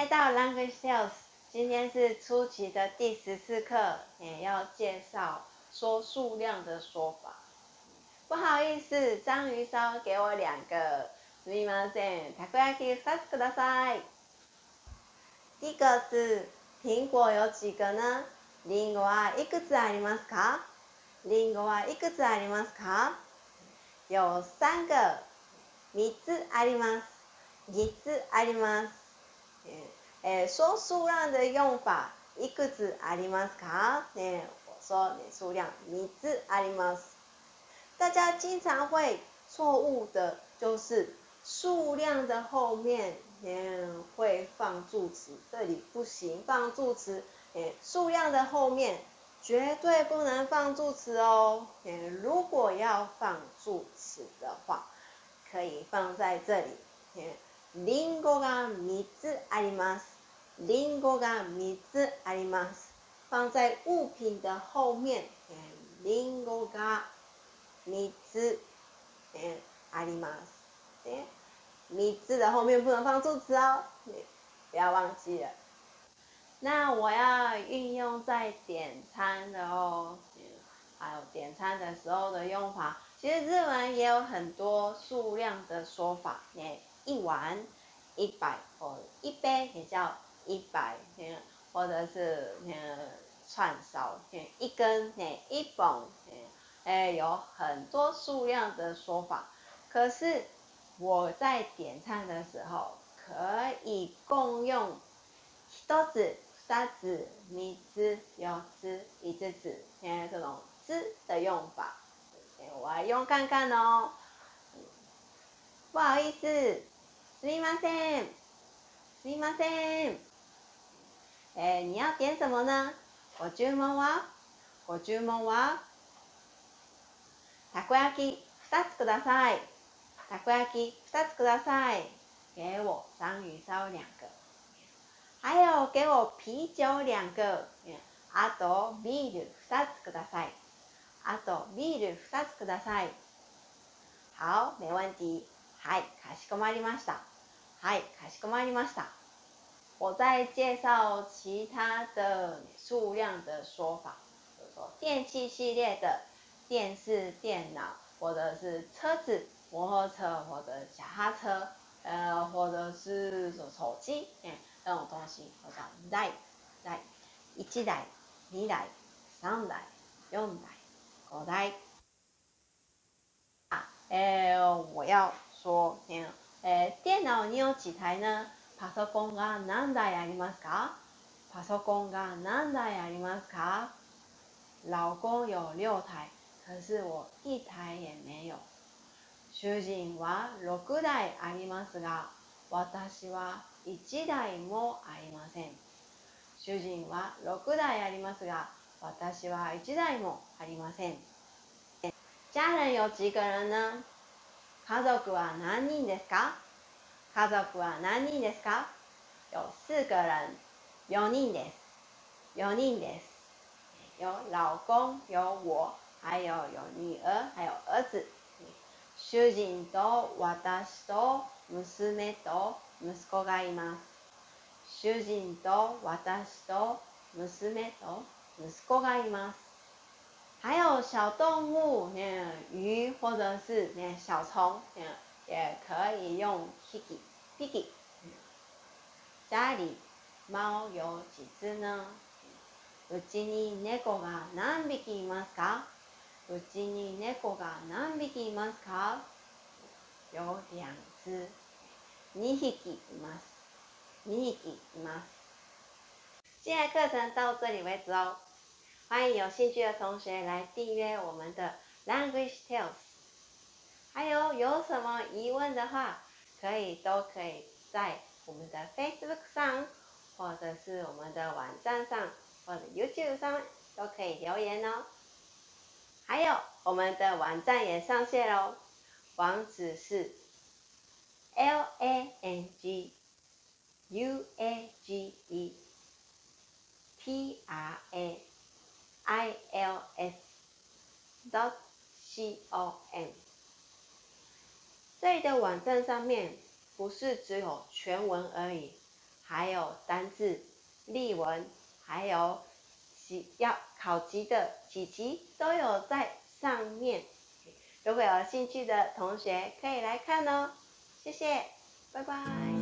到 Language Tales， 今天是初期的第14课，也要介绍说数量的说法。不好意思，章鱼烧给我2个。すみません、たこ焼き2つください。第一个是苹果有几个呢？リンゴはいくつありますか？リンゴはいくつありますか？有3个。3つあります。3つあります。说数量的用法，いくつありますか？我说数量3つあります。大家经常会错误的就是数量的后面会放助词，这里不行，放助词。数量的后面绝对不能放助词哦。如果要放助词的话，可以放在这里。リンゴが3つあります。リンゴが3つあります。放在物品的后面。リンゴが3つあります。3つ的后面不能放助词哦，不要忘记了。那我要运用在点餐的哦，还有点餐的时候的用法。其实日文也有很多数量的说法，一碗100，或者一杯也叫100，或者是串烧一根一本，有很多数量的说法。可是我在点餐的时候可以共用1つ、2つ、3つ、4つ、5つ这种之的用法。我来用看看哦。不好意思，すみません，すみません。你要点什么呢？ご注文は？ご注文は？たこ焼き2つください。たこ焼き2つください。给我章鱼烧2个。还有给我啤酒2个。あとビール2つください。あとビール2つください。好，没问题。はい、かしこまりました。はい、かしこまりました。我在介绍其他的数量的说法，比如说电器系列的电视、电脑，或者是车子、摩托车或者脚踏车，或者是手机，这种东西我叫台、台、1台、2台、3台、4台、5台。我要说，电脑你有几台呢？パソコンが何台ありますか？パソコンが何台ありますか？老公有6台，可是我1台也没有。主人は6台ありますが、私は1台もありません。主人は6台ありますが、私は1台もありません。家人有几个人呢？家族は何人ですか？家族は何人ですか？有4个人，4人です。4人です。有老公，有我，还有女儿，还有儿子。主人と私と娘と息子がいます。主人と私と娘と息子がいます。还有小动物，鱼或者是小虫，也可以用 piggy。家里猫有几只呢？うちに猫が何匹いますか？うちに猫が何匹いますか？有2只。2匹います。2匹います。今天的课程到这里为止哦。欢迎有兴趣的同学来订阅我们的 Language Tales。还有什么疑问的话，都可以在我们的 Facebook 上，或者是我们的网站上，或者 YouTube 上都可以留言哦。还有我们的网站也上线咯，网址是 languagetrails.com。这里的网站上面不是只有全文而已， 还有单字、例文，还有要考级的几集都有在上面。如果有兴趣的同学可以来看哦。谢谢，拜拜。